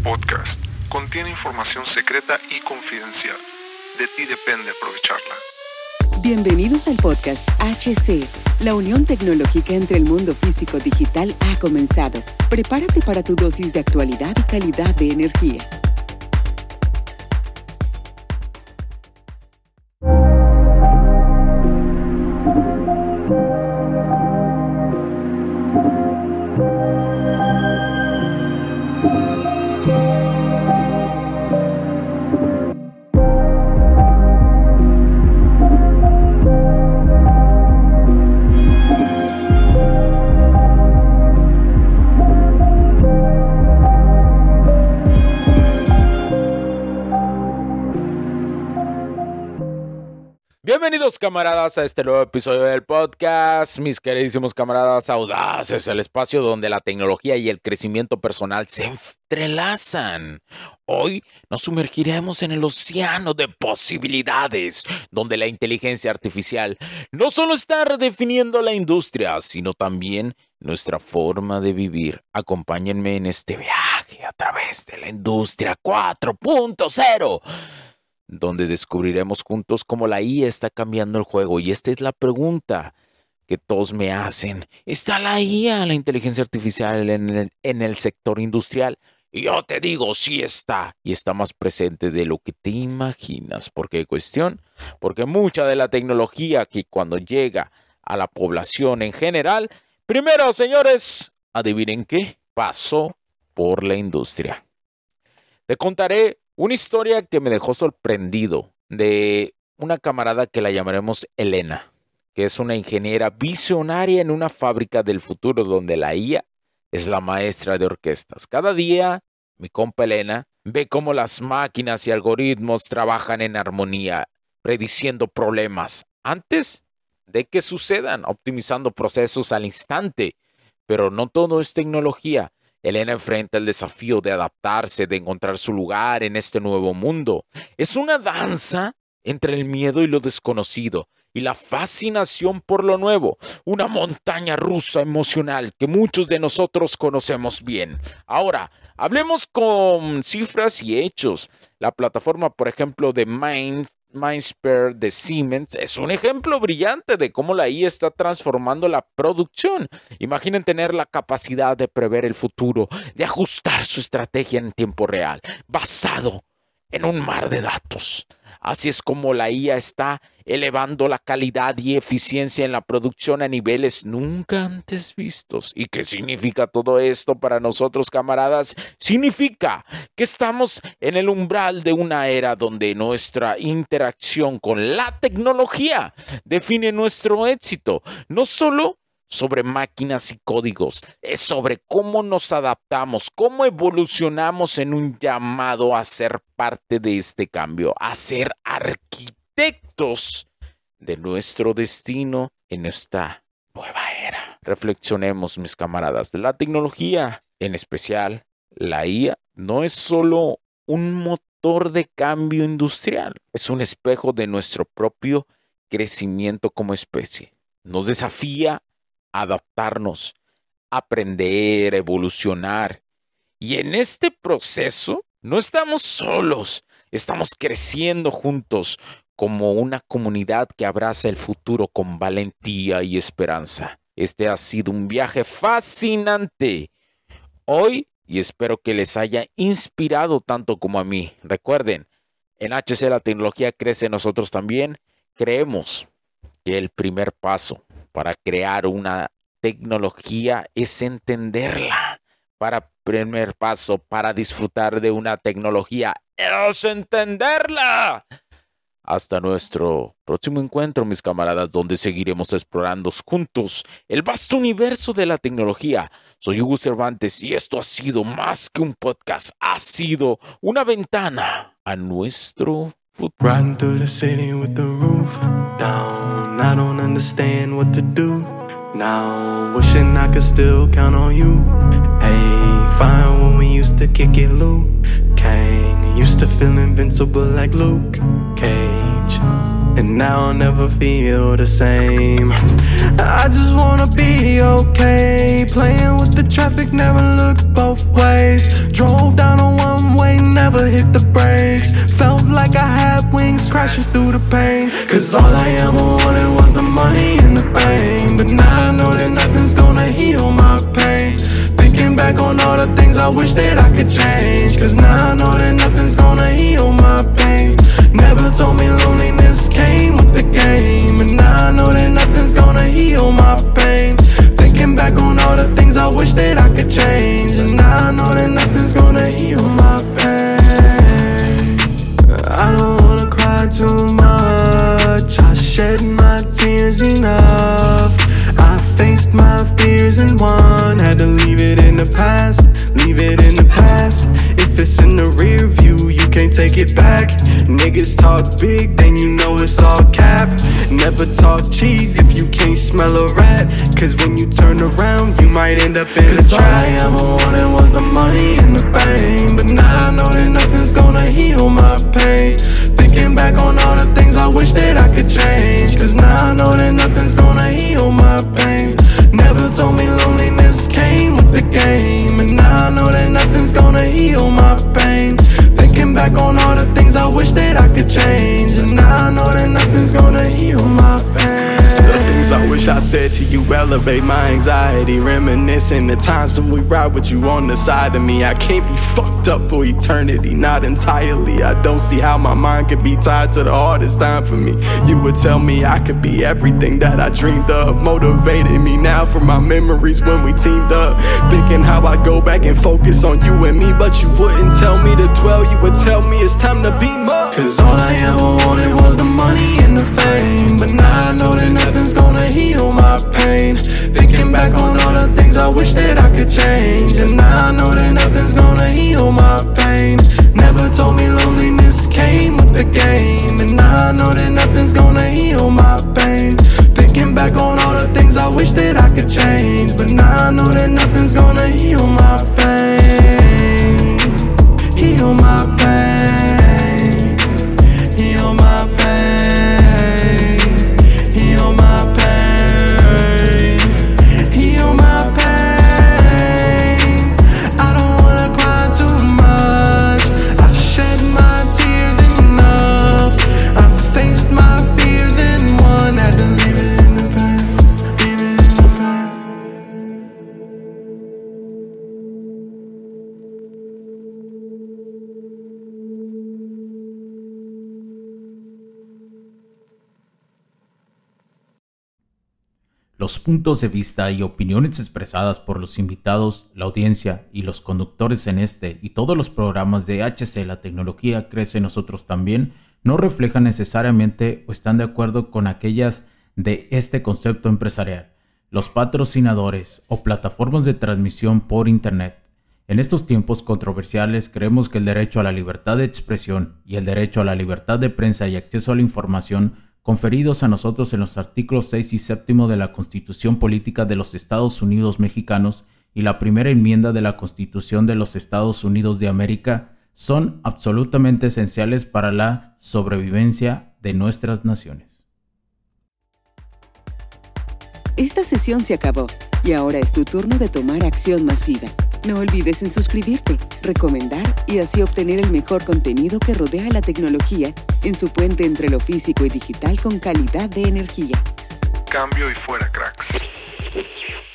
podcast contiene información secreta y confidencial. De ti depende aprovecharla. Bienvenidos al podcast HC. La unión tecnológica entre el mundo físico-digital ha comenzado. Prepárate para tu dosis de actualidad y calidad de energía. Bienvenidos, camaradas, a este nuevo episodio del podcast. Mis queridísimos camaradas audaces, el espacio donde la tecnología y el crecimiento personal se entrelazan. Hoy nos sumergiremos en el océano de posibilidades, donde la inteligencia artificial no solo está redefiniendo la industria, sino también nuestra forma de vivir. Acompáñenme en este viaje a través de la industria 4.0. donde descubriremos juntos cómo la IA está cambiando el juego. Y esta es la pregunta que todos me hacen. ¿Está la IA, la inteligencia artificial, en el sector industrial? Y yo te digo, sí está. Y está más presente de lo que te imaginas. ¿Por qué cuestión? Porque mucha de la tecnología que cuando llega a la población en general, primero, señores, adivinen qué, pasó por la industria. Te contaré una historia que me dejó sorprendido de una camarada que la llamaremos Elena, que es una ingeniera visionaria en una fábrica del futuro donde la IA es la maestra de orquestas. Cada día, mi compa Elena ve cómo las máquinas y algoritmos trabajan en armonía, prediciendo problemas antes de que sucedan, optimizando procesos al instante. Pero no todo es tecnología. Elena enfrenta el desafío de adaptarse, de encontrar su lugar en este nuevo mundo. Es una danza entre el miedo y lo desconocido y la fascinación por lo nuevo. Una montaña rusa emocional que muchos de nosotros conocemos bien. Ahora, hablemos con cifras y hechos. La plataforma, por ejemplo, de Mindsphere de Siemens es un ejemplo brillante de cómo la IA está transformando la producción. Imaginen tener la capacidad de prever el futuro, de ajustar su estrategia en tiempo real, basado en un mar de datos. Así es como la IA está elevando la calidad y eficiencia en la producción a niveles nunca antes vistos. ¿Y qué significa todo esto para nosotros, camaradas? Significa que estamos en el umbral de una era donde nuestra interacción con la tecnología define nuestro éxito. No solo sobre máquinas y códigos, es sobre cómo nos adaptamos, cómo evolucionamos en un llamado a ser parte de este cambio, a ser arquitectos de nuestro destino en esta nueva era. Reflexionemos, mis camaradas, la tecnología, en especial la IA, no es solo un motor de cambio industrial, es un espejo de nuestro propio crecimiento como especie. Nos desafía adaptarnos, aprender, evolucionar. Y en este proceso no estamos solos, estamos creciendo juntos como una comunidad que abraza el futuro con valentía y esperanza. Este ha sido un viaje fascinante hoy y espero que les haya inspirado tanto como a mí. Recuerden, en HC la tecnología crece en nosotros también. Creemos que el primer paso para crear una tecnología es entenderla. Primer paso para disfrutar de una tecnología es entenderla. Hasta nuestro próximo encuentro, mis camaradas, donde seguiremos explorando juntos el vasto universo de la tecnología. Soy Hugo Cervantes y esto ha sido más que un podcast. Ha sido una ventana a nuestro futuro. Riding through the city with the roof down. I don't understand what to do now. Wishing I could still count on you. Hey, fine when we used to kick it, Luke Kang. Used to feel invincible like Luke Cage. And now I'll never feel the same. I just wanna be okay. Playing with the traffic, never looked both ways. Drove down on one never hit the brakes. Felt like I had wings crashing through the pain. Cause all I ever wanted was the money and the fame. But now I know that nothing's gonna heal my pain. Thinking back on all the things I wish that I could change. Cause now I know that nothing's gonna heal my pain. Never told me loneliness came with the game. And now I know that nothing's gonna heal my pain. Thinking back on all the things I wish that I could change. And now I know that nothing's gonna heal my pain. I don't wanna cry too much. I shed my tears enough. I faced my fears and won. Had to leave it in the past, leave it in the past. If it's in the rear view, you can't take it back. Niggas talk big, then you know it's all cap. Never talk cheese if you can't smell a rat. Cause when you turn around, you might end up in a trap. All I ever wanted was the money and the fame. But now I know that nothing's gonna heal my pain. Thinking back on all the things I wish that I could change. Cause now I know that nothing's gonna heal my pain. Never told me loneliness came with the game. And now I know that nothing's gonna heal my pain. Thinking back on all the things I wish that I could change. And now I know that nothing's gonna heal my pain. The things I wish I said to you elevate my anxiety. Reminiscing the times when we ride with you on the side of me. I can't be fucked up for eternity, not entirely. I don't see how my mind could be tied to the hardest time for me. You would tell me I could be everything that I dreamed of. Motivated me now from my memories when we teamed up. Thinking how I'd go back and focus on you and me. But you wouldn't tell me to dwell, you would tell me it's time to beam up. Cause all I ever wanted was the money and the fame. But now I know that nothing's gonna heal my pain. Thinking back on all the things I wish that I could change. And now I know that nothing's gonna heal my pain. Never told me loneliness came with the game. And now I know that nothing's gonna heal my pain. Thinking back on all the things I wish that I could change. But now I know that nothing's gonna heal my pain. Heal my pain. Heal my pain. Heal my pain. Heal my pain. I don't wanna cry too much. I shed my tears enough. I faced my fears and won. Had to leave it in the past. Leave it in the past. Los puntos de vista y opiniones expresadas por los invitados, la audiencia y los conductores en este y todos los programas de HC La Tecnología Crece en Nosotros También no reflejan necesariamente o están de acuerdo con aquellas de este concepto empresarial, los patrocinadores o plataformas de transmisión por Internet. En estos tiempos controversiales creemos que el derecho a la libertad de expresión y el derecho a la libertad de prensa y acceso a la información conferidos a nosotros en los artículos 6 y 7 de la Constitución Política de los Estados Unidos Mexicanos y la primera enmienda de la Constitución de los Estados Unidos de América son absolutamente esenciales para la sobrevivencia de nuestras naciones. Esta sesión se acabó y ahora es tu turno de tomar acción masiva. No olvides en suscribirte, recomendar y así obtener el mejor contenido que rodea la tecnología en su puente entre lo físico y digital con calidad de energía. Cambio y fuera, cracks.